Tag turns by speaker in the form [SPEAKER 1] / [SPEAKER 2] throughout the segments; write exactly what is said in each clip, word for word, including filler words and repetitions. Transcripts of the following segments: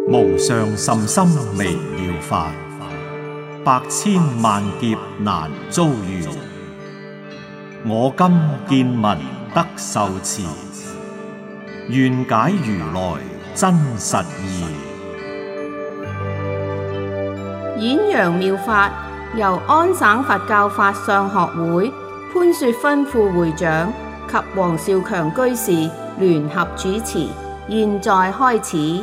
[SPEAKER 1] 無上甚深微妙法，百千萬劫難遭遇。我今見聞得受持，願解如來真實義。
[SPEAKER 2] 演揚妙法由安省佛教法相學會潘雪芬副會長及黃少強居士聯合主持，現在開始。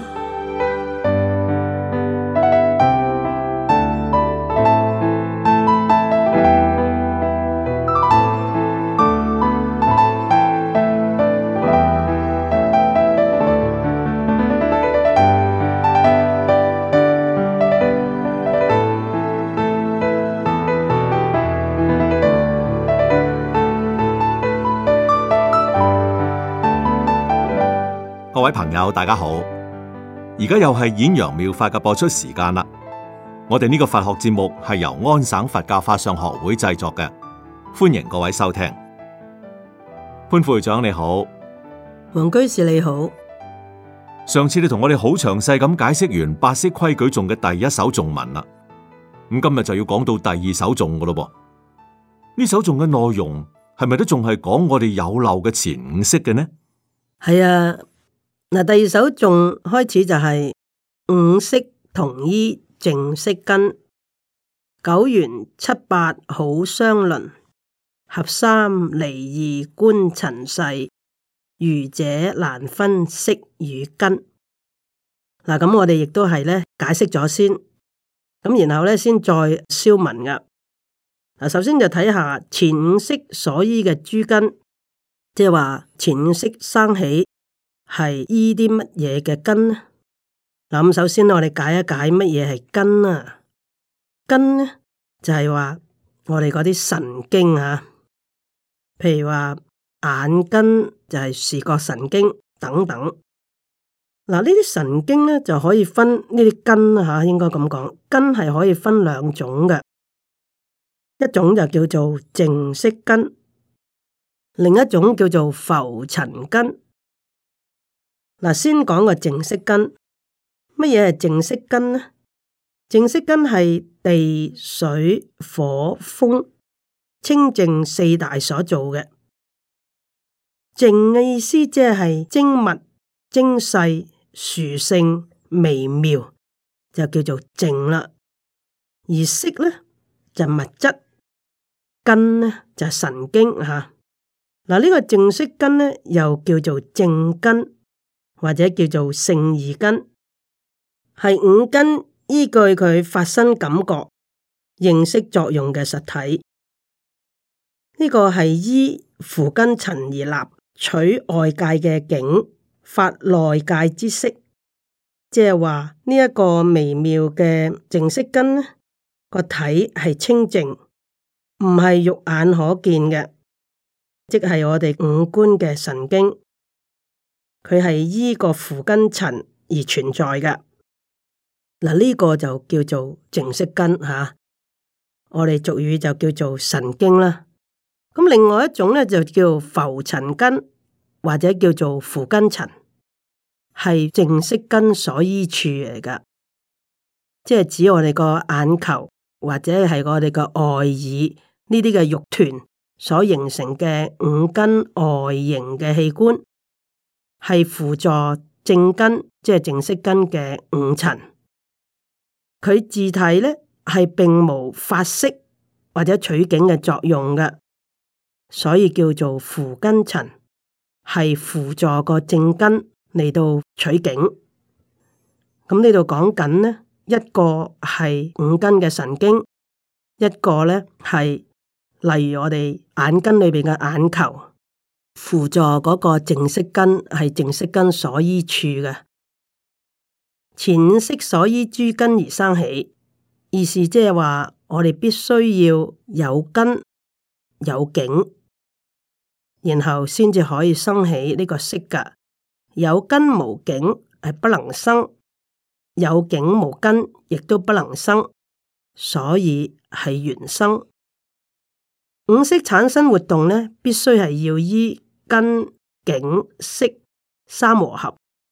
[SPEAKER 3] 各位朋友，大家好！而家又係演揚妙法嘅播出時間啦。我哋呢個佛學節目係由安省佛教法相學會製作嘅，歡迎各位收聽。潘副會長你好，
[SPEAKER 4] 黃居士你好。
[SPEAKER 3] 上次你同我哋好詳細咁解釋完八識規矩頌嘅第一首頌文啦，咁今日就要講到第二首頌噶咯噃。呢首頌嘅內容係咪都仲係講我哋有漏嘅前五識嘅呢？
[SPEAKER 4] 係啊。嗱，第二首頌開始就係五識同依淨色根，九緣七八好相鄰，合三離二觀塵世，愚者難分識與根。嗱，咁我哋亦都係咧解釋咗先，咁然後咧先再消文噶。嗱，首先就睇下前五識所依嘅諸根，即係話前五識生起。係依啲乜嘢嘅根呢？嗱，咁首先我哋解一解乜嘢係根啊？根呢就係話我哋嗰啲神經啊，譬如話眼根就係視覺神經等等。嗱，呢啲神經咧就可以分呢啲根啊，吓，應該咁講，根係可以分兩種嘅，一種就叫做淨色根，另一種叫做浮塵根。嗱，先講個淨色根，乜嘢係淨色根呢？淨色根係地、水、火、風清淨四大所做嘅。淨嘅意思即係精密、精細、殊勝、微妙，就叫做淨啦。而色咧就物質，根咧就神經吓。嗱，呢個淨色根咧又叫做正根，或者叫做勝義根，係五根依據佢發生感覺、認識作用嘅實體。呢、這個係依扶根塵而立，取外界嘅境，發內界之色。即係話呢一個微妙嘅淨色根呢個體係清淨，唔係肉眼可見嘅，即係我哋五官嘅神經。佢係依個扶根塵而存在嘅。嗱，呢個就叫做淨色根吓，我哋俗語就叫做神經啦。咁另外一種咧就叫浮塵根，或者叫做扶根塵，係淨色根所依處嚟噶，即係指我哋個眼球或者係我哋個外耳呢啲嘅肉團所形成嘅五根外形嘅器官。係輔助正根，即係淨色根嘅五塵。佢自體咧係並無發色或者取景嘅作用嘅，所以叫做扶根塵，係輔助個正根嚟到取景。咁呢度講緊呢，一個係五根嘅神經，一個咧係例如我哋眼根裏邊嘅眼球。輔助嗰個淨色根係淨色根所依處嘅，前五識所依諸根而生起，意思即係話我哋必須要有根有境，然後先至可以生起呢個識噶。有根無境係不能生，有境無根亦都不能生，所以係緣生。五識產生活動呢，必須係要依根、境、識三和合，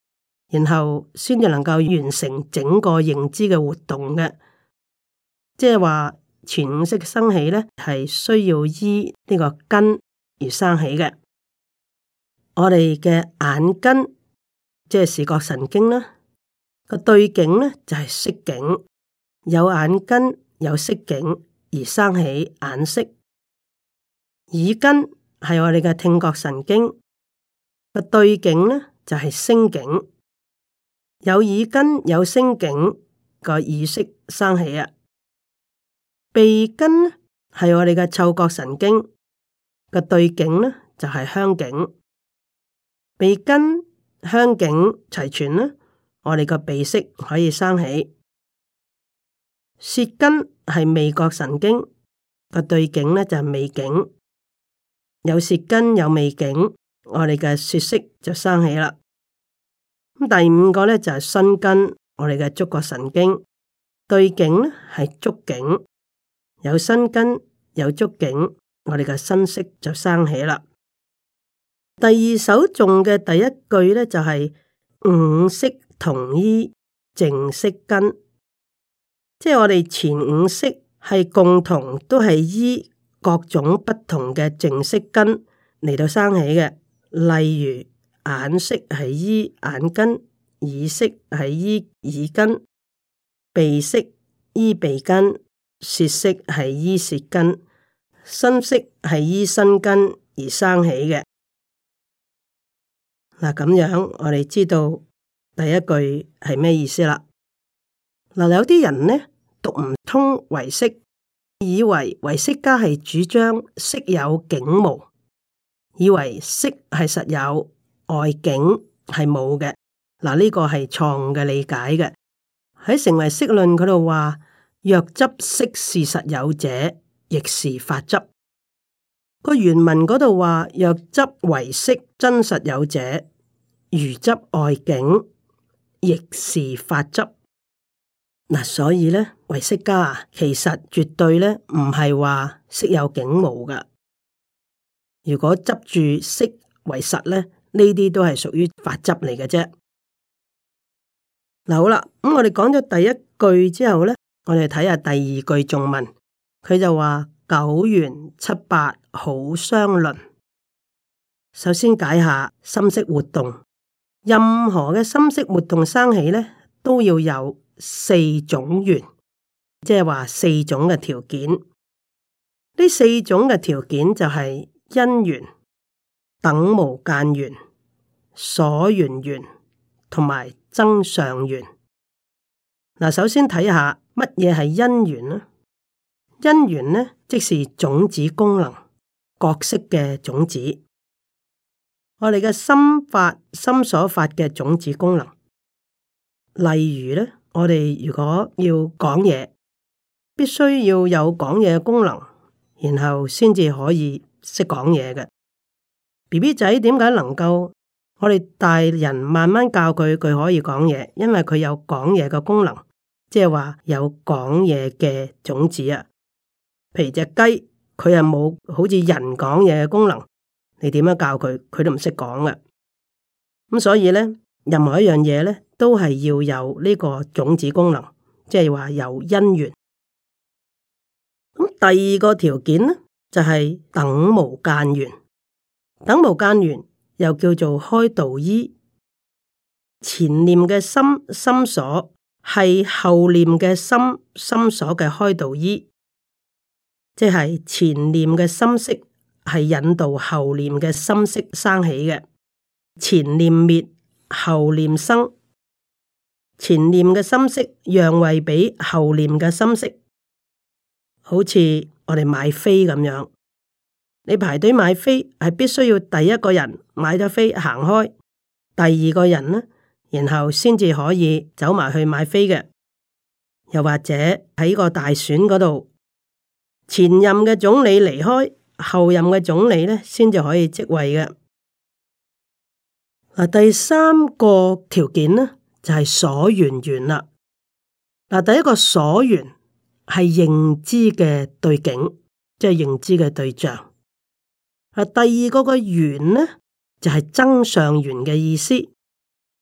[SPEAKER 4] 然後先至能夠完成整個認知嘅活動嘅。即係話前五識生起咧，係需要依呢個根而生起嘅。我哋嘅眼根即係視覺神經啦，個對境咧就係色境，有眼根有色境而生起眼色。耳根係我哋嘅聽覺神經，個對境咧就係聲境，有耳根有聲境，個耳色生起啊。鼻根咧係我哋嘅嗅覺神經，個對境咧就係香境。鼻根香境齊全啦，我哋個鼻色可以生起。舌根係味覺神經，個對境咧就係味境。有舌根有味境，我哋嘅舌色就生起啦。咁第五個咧就係身根，我哋嘅觸覺神經，對境咧係觸境。有身根有觸境，我哋嘅身色就生起啦。第二首頌嘅第一句咧就係、是、五識同依淨色根，即係我哋前五識係共同都係依各種不同嘅淨色根嚟到生起嘅。例如眼識係依眼根，耳識係依耳根，鼻識依鼻根，舌識係依舌根，身識係依身根而生起嘅。嗱，咁樣我哋知道第一句係咩意思啦。嗱，有啲人呢讀唔通唯識，以為唯識家係主張識有境無，以為識係實有，外境係冇嘅。嗱，呢個係錯誤嘅理解嘅。喺成唯識論嗰度話，若執識是實有者，亦是法執。個原文嗰度話，若執唯識真實有者，如執外境，亦是法執。嗱，所以咧，唯識家啊，其實絕對咧唔係話識有境無噶。如果執住識為實咧，呢啲都係屬於法執嚟嘅啫。嗱，好啦，咁我哋講咗第一句之後咧，我哋睇下第二句頌文，佢就話九緣七八好相鄰。首先解下心識活動，任何嘅心識活動生起咧，都要有四種緣，即係話四種嘅條件。呢四種嘅條件就係因緣、等無間緣、所緣緣同埋增上緣。嗱，首先睇下乜嘢係因緣呢？因緣呢，即是種子功能，角色嘅種子。我哋嘅心法、心所法嘅種子功能。例如咧，我哋如果要講嘢，必須要有講嘢嘅功能，然後先至可以識講嘢嘅。B B 仔點解能夠我哋大人慢慢教佢，佢可以講嘢？因為佢有講嘢嘅功能，即係話有講嘢嘅種子啊。譬如隻雞，佢又冇好似人講嘢嘅功能，你點樣教佢，佢都唔識講嘅。咁所以咧，任何一樣嘢咧，都係要有呢個種子功能，即係話有因緣。咁第二個條件呢，就係、是、等無間緣。等無間緣又叫做開導依。前念嘅心心所係後念嘅心心所嘅開導依，即係前念嘅心識係引導後念嘅心識生起嘅。前念滅，後念生。前念嘅心識讓位俾後念嘅心識，好似我哋買飛咁樣，你排隊買飛係必須要第一個人買咗飛行開，第二個人呢，然後先至可以走埋去買飛嘅。又或者喺個大選嗰度，前任嘅總理離開，後任嘅總理呢先至可以即位嘅。嗱，第三個條件呢，就係所緣緣啦。嗱，第一個所緣係認知嘅對境，即係認知嘅對象。啊，第二個個緣呢，就係增上緣嘅意思。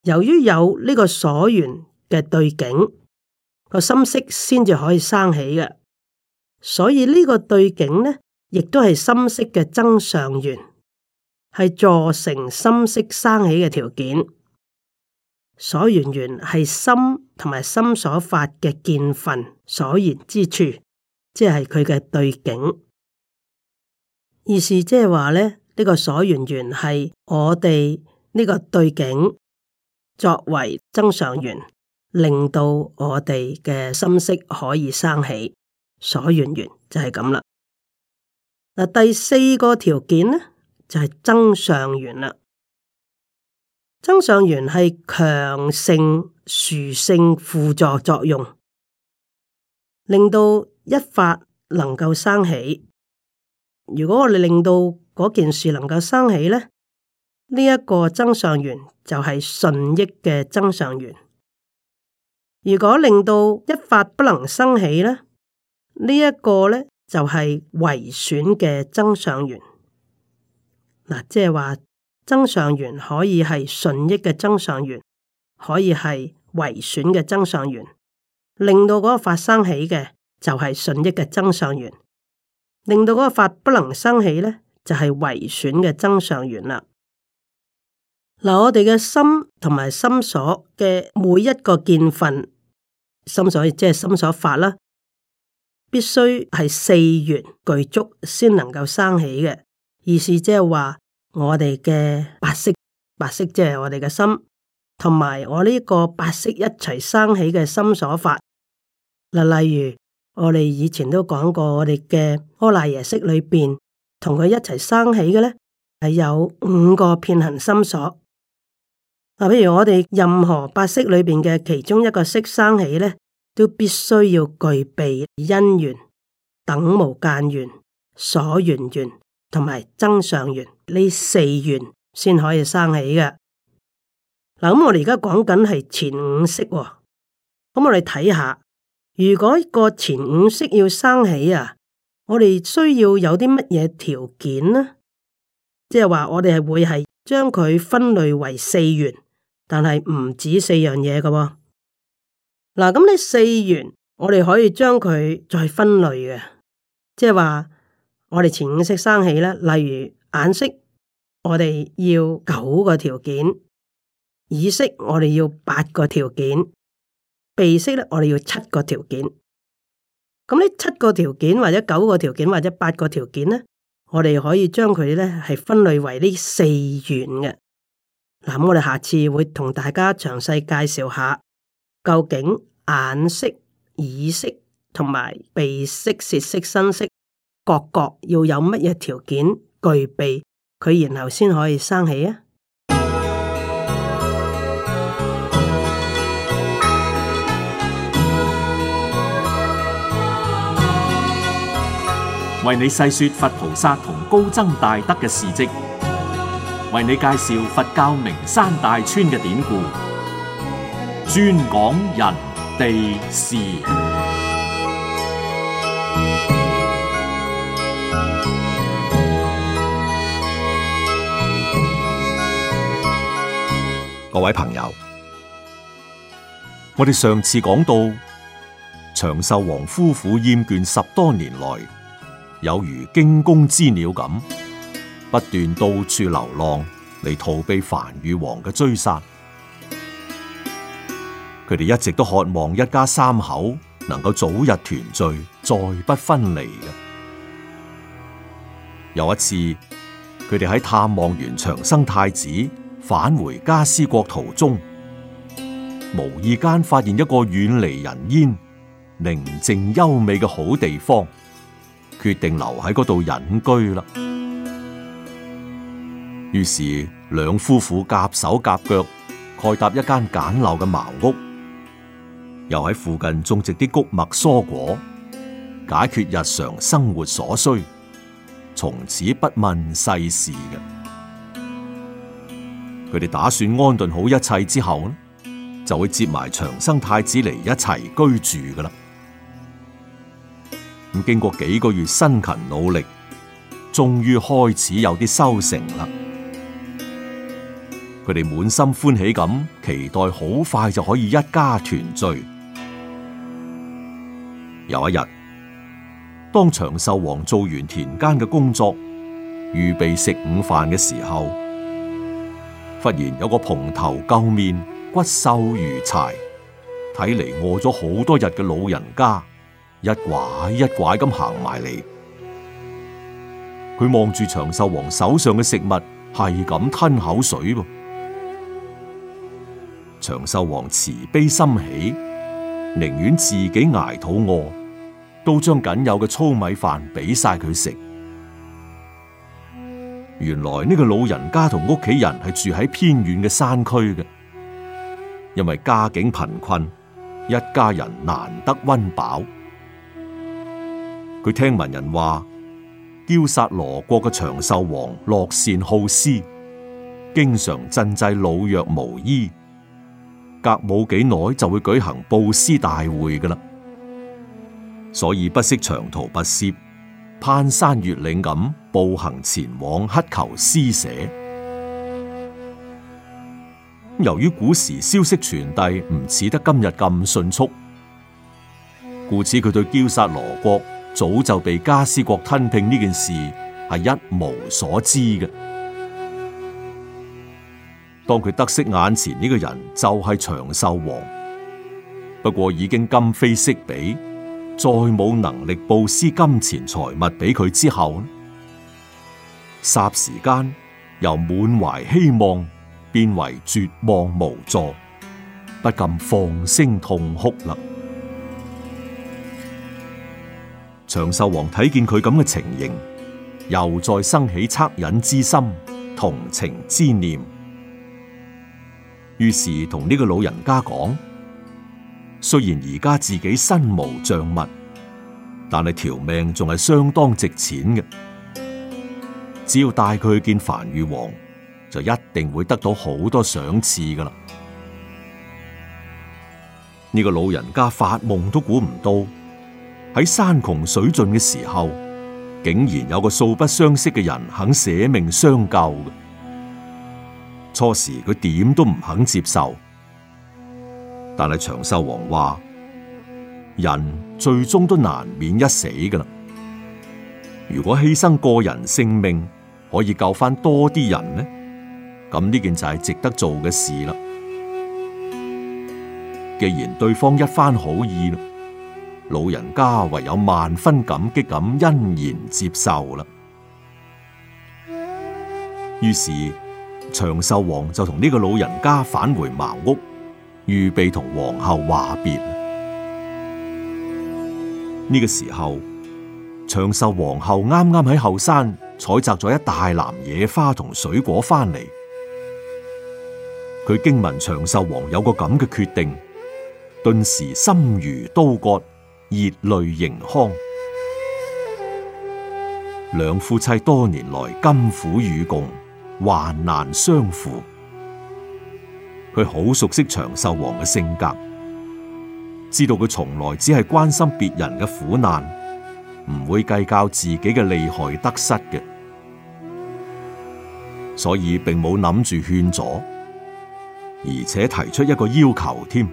[SPEAKER 4] 由於有呢個所緣嘅對境，個心識先至可以生起嘅，所以呢個對境呢，亦都係心識嘅增上緣，係助成心識生起嘅條件。所緣緣係心同埋心所發嘅見分所緣之處，即係佢嘅對境。意思即係話咧，呢個所緣緣係我哋呢個對境作為增上緣，令到我哋嘅心識可以生起。所緣緣就係咁啦。嗱，第四個條件呢，就係增上緣啦。增上緣係強盛殊勝輔助作用，令到一法能夠生起。如果我哋令到嗰件事能夠生起咧，呢、這、一個增上緣就係順益嘅增上緣。如果令到一法不能生起咧，這個、呢一個咧就係違損嘅增上緣。嗱，即係話。增上緣可以係順益嘅增上緣，可以係違損嘅增上緣，令到嗰個法生起嘅就係順益嘅增上緣，令到嗰個法不能生起咧就係違損嘅增上緣啦。嗱，我哋嘅心同埋心所嘅每一個見分，心所即係心所法啦，必須係四緣具足先能夠生起嘅。意思即係話。我哋嘅八識，八識即係我哋嘅心，同埋我呢個八識一齊生起嘅心所法。嗱，例如我哋以前都講過，我哋嘅阿賴耶識裏邊，同佢一齊生起嘅咧，係有五個遍行心所。嗱，譬如我哋任何八識裏邊嘅其中一個識生起咧，都必須要具備因緣、等無間緣、所緣緣同埋增上緣。呢四緣先可以生起嘅。嗱，咁我哋而家講緊係前五識，咁我哋睇下，如果個前五識要生起啊，我哋需要有啲乜嘢條件呢？即係話我哋係會係將佢分類為四緣，但係唔止四樣嘢嘅。嗱，咁呢四緣我哋可以將佢再分類嘅，即係話我哋前五識生起咧，例如。眼識我哋要九個條件，耳識我哋要八個條件，鼻識咧我哋要七個條件。咁呢七個條件或者九個條件或者八個條件咧，我哋可以將佢咧係分類為呢四緣嘅。嗱，咁我哋下次會同大家詳細介紹下，究竟眼識、耳識同埋鼻識、舌識、身識各各要有乜嘢條件具備佢，然後先可以生起啊！
[SPEAKER 1] 為你細說佛菩薩同高僧大德嘅事跡，為你介紹佛教名山大川嘅典故，專講人地事。
[SPEAKER 3] 各位朋友，我哋上次講到長壽王夫婦厭倦十多年來有如驚弓之鳥咁，不斷到處流浪嚟逃避梵豫王嘅追殺。佢哋一直都渴望一家三口能夠早日團聚，再不分離嘅。有一次，佢哋喺探望完長生太子，返回迦尸國途中，無意間發現一個遠離人煙、寧靜優美嘅好地方，決定留喺嗰度隱居啦。於是兩夫婦夾手夾腳蓋搭一間簡陋嘅茅屋，又喺附近種植啲穀物蔬果，解決日常生活所需，從此不問世事嘅。佢哋打算安頓好一切之後，就會接埋長生太子嚟一齊居住噶啦。咁經過幾個月辛勤努力，終於開始有啲收成啦。 佢哋滿心歡喜咁，期待好快就可以一家團聚。有一日，當長壽王做完田間嘅工作，預備食午飯嘅時候，忽然有個蓬頭垢面、骨瘦如柴，睇嚟餓咗好多日嘅老人家，一拐一拐咁行埋嚟。佢望住長壽王手上嘅食物，係咁吞口水噃。長壽王慈悲心起，寧願自己捱肚餓，都將僅有嘅糙米飯俾晒佢食。原來呢個老人家同屋企人係住喺偏遠嘅山區嘅，因為家境貧困，一家人難得溫飽。佢聽聞人話，憍薩羅國嘅長壽王樂善好施，經常賑濟老弱無依，隔冇幾耐就會舉行布施大會㗎喇，所以不惜長途跋涉，攀山越嶺咁步行前往乞求施捨。由於古時消息傳遞唔似得今日咁迅速，故此佢對憍薩羅國早就被迦尸國吞併呢件事係一無所知嘅。當佢得悉眼前呢個人就係長壽王，不過已經今非昔比，再冇能力布施金錢財物俾佢之後，霎時間由滿懷希望變為絕望無助，不禁放聲痛哭啦。長壽王睇見佢咁嘅情形，又再生起惻隱之心、同情之念，於是同呢個老人家講：雖然而家自己身無障物，但係條命仲係相當值錢嘅。只要帶佢去見梵豫王，就一定會得到好多賞賜噶啦。呢個老人家發夢都估唔到，喺山窮水盡嘅時候，竟然有個素不相識嘅人肯捨命相救嘅。初時佢點都唔肯接受，但係長壽王話：人最終都難免一死噶啦。如果犧牲個人性命可以救翻多啲人呢，咁呢件就係值得做嘅事啦。既然對方一番好意，老人家唯有萬分感激咁欣然接受啦。於是長壽王就同呢個老人家返回茅屋，預備同皇后話別。呢個時候，長壽皇后啱啱喺後山採摘咗一大籃野花同水果翻嚟。佢驚聞長壽王有個咁嘅決定，頓時心如刀割，熱淚盈眶。兩夫妻多年來甘苦與共，患難相扶。佢好熟悉長壽王嘅性格，知道佢從來只係關心別人嘅苦難，唔會計較自己嘅利害得失嘅，所以並冇諗住勸阻，而且提出一個要求添。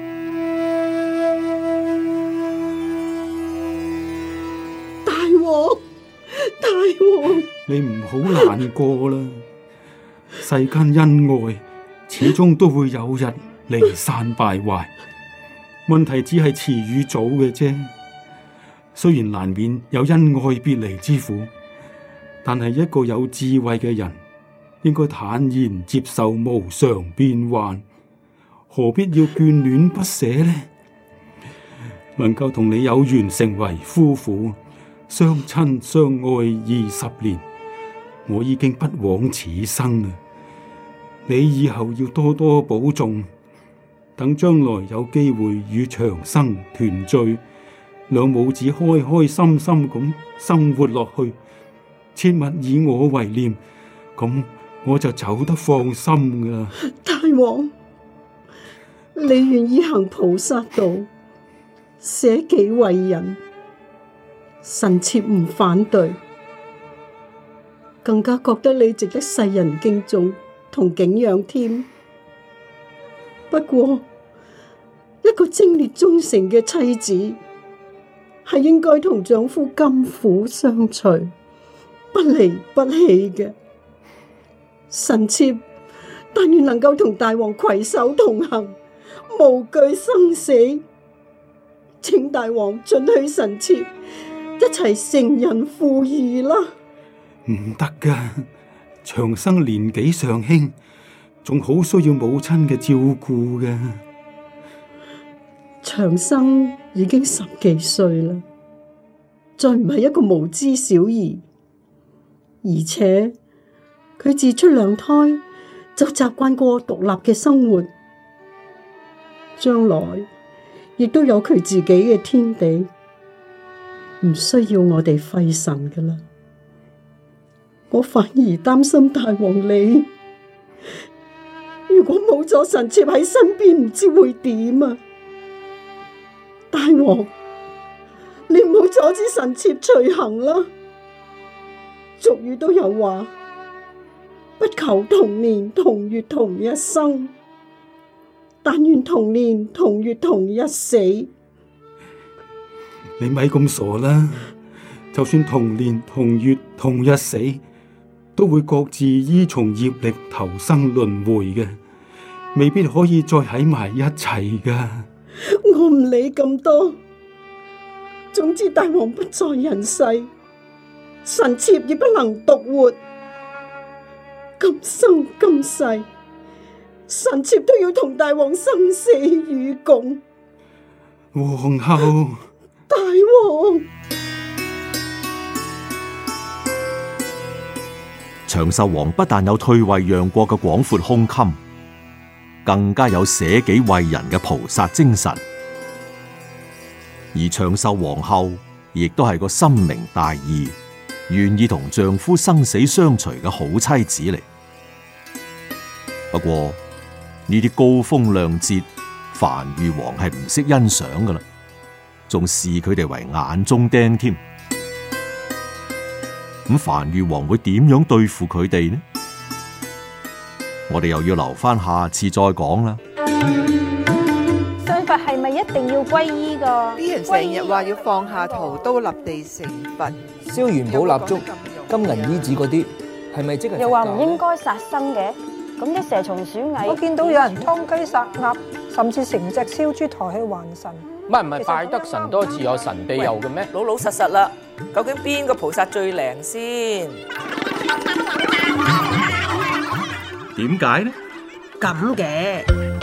[SPEAKER 4] 大王，大王，
[SPEAKER 5] 你唔好難過啦，世間恩愛始終都會有日離散敗壞，問題只係遲與早嘅啫。雖然難免有恩愛別離之苦，但係一個有智慧嘅人應該坦然接受無常變幻，何必要眷戀不捨呢？能夠同你有緣成為夫婦，相親相愛二十年，我已經不枉此生啦。你以後要多多保重，等將來有機會與長生團聚，兩母子開開心心咁生活落去，切勿以我為念，咁我就走得放心噶啦。
[SPEAKER 4] 大王，你願意行菩薩道，捨己為人，臣妾唔反對，更加覺得你值得世人敬重，
[SPEAKER 6] 同景仰添。不過，一個貞烈忠誠嘅妻子係應該同丈夫甘苦相隨，不離不棄嘅。臣妾但願能夠同大王攜手同行，無懼生死。請大王准許臣妾一齊成人父義啦。
[SPEAKER 5] 唔得噶，長生年紀尚輕，仲好需要母親嘅照顧嘅。
[SPEAKER 6] 長生已經十幾歲啦，再唔係一個無知小兒，而且佢自出娘胎就習慣過獨立嘅生活，將來亦都有佢自己嘅天地，唔需要我哋費神噶啦。我反而擔心大王你，如果冇咗臣妾喺身邊，唔知會點啊！大王，你唔好阻止臣妾隨行啦。俗語都有話，不求同年同月同一生，但願同年同月同一死。
[SPEAKER 5] 你咪咁傻啦！就算同年同月同一死，都會各自依從業力投生輪迴嘅，未必可以再喺埋一齊噶。
[SPEAKER 6] 我唔理咁多，總之大王不在人世，臣妾亦不能獨活。今生今世，臣妾都要同大王生死與共。
[SPEAKER 5] 皇后，
[SPEAKER 6] 大王。
[SPEAKER 3] 長壽王不但有退位讓國嘅廣闊胸襟，更加有捨己為人嘅菩薩精神。而長壽皇后亦都係個深明大義、願意同丈夫生死相隨嘅好妻子嚟。不過呢啲高風亮節，樊御王係唔識欣賞噶啦，仲視佢哋為眼中釘添。咁樊御王會點樣對付佢哋呢？我哋又要留翻下，下次再講啦。
[SPEAKER 7] 信佛係咪一定要皈依噶？
[SPEAKER 8] 啲人成日話要放下屠刀立地成佛，
[SPEAKER 9] 燒元寶蠟燭、金銀衣紙嗰啲，係咪即係？
[SPEAKER 7] 又話唔應該殺生嘅，咁啲蛇蟲鼠蟻，
[SPEAKER 10] 我見到有人劏雞殺鴨，甚至成隻燒豬抬去還神。
[SPEAKER 9] 唔係唔係，拜得神多自有神庇佑嘅咩？
[SPEAKER 8] 老老實實啦，究竟邊個菩薩最靈先？
[SPEAKER 3] 點解呢？
[SPEAKER 4] 咁嘅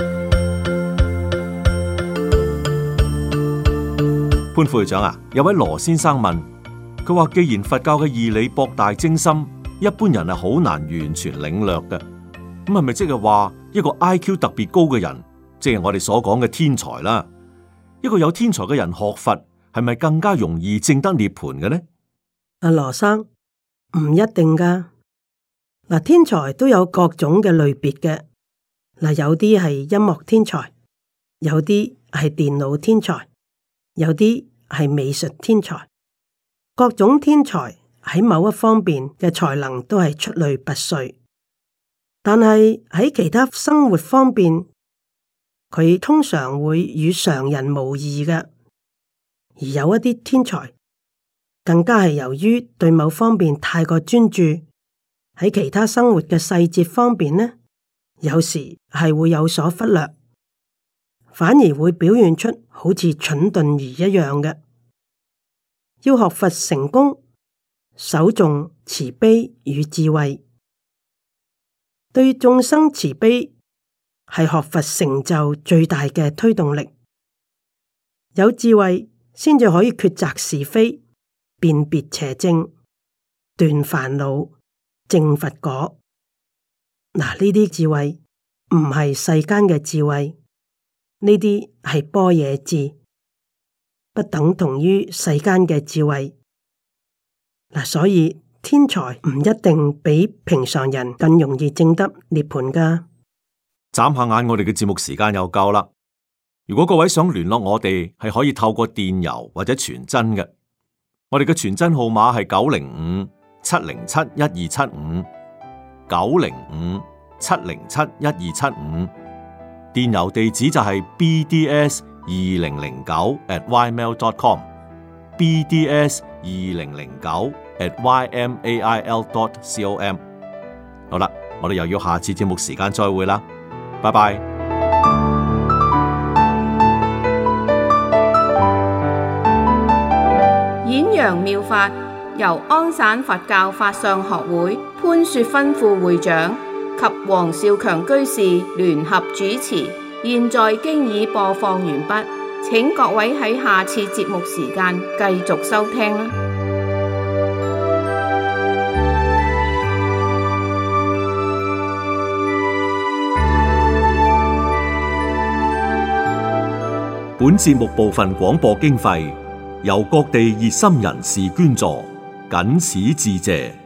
[SPEAKER 3] 潘副會長啊，有位羅先生問，佢話既然佛教嘅義理博大精深，一般人係好難完全領略嘅，咁係咪即係話一個 I Q 特別高嘅人，即係我哋所講嘅天才啦？一個有天才嘅人學佛，係咪更加容易證得涅槃嘅呢？
[SPEAKER 4] 阿羅生，唔一定噶。嗱，天才都有各種嘅類別嘅。嗱，有啲係音樂天才，有啲係電腦天才，有啲係美術天才。各種天才喺某一方面嘅才能都係出類拔萃，但係喺其他生活方面，佢通常會與常人無異嘅。而有一啲天才，更加係由於對某方面太過專注，喺其他生活嘅細節方面呢，有時係會有所忽略，反而會表現出好似蠢鈍兒一樣嘅。要學佛成功，首重慈悲與智慧，對眾生慈悲係學佛成就最大嘅推動力。有智慧先至可以抉擇是非，辨別邪正，斷煩惱，證佛果。嗱，呢啲智慧唔係世間嘅智慧，呢啲係般若智，不等同於世間嘅智慧。嗱，所以天才唔一定比平常人更容易證得涅槃噶。
[SPEAKER 3] 眨下眼，我哋嘅節目時間又夠啦。如果各位想聯絡我哋，係可以透過電郵或者傳真嘅。我哋嘅傳真號碼係九零五七零七一二七五九零五七零七一二七五，電郵地址就係 b d s 二零零九 at y mail dot com，b d s 二零零九 at y m a i l dot com。好啦，我哋又要下次節目時間再會啦，拜拜。
[SPEAKER 2] 演揚妙法由安省佛教法相學會潘雪芬副會長及黃少強居士聯合主持，現在經已播放完畢，請各位喺下次節目時間繼續收聽啦。
[SPEAKER 3] 本節目部分廣播經費由各地熱心人士捐助，謹此致謝。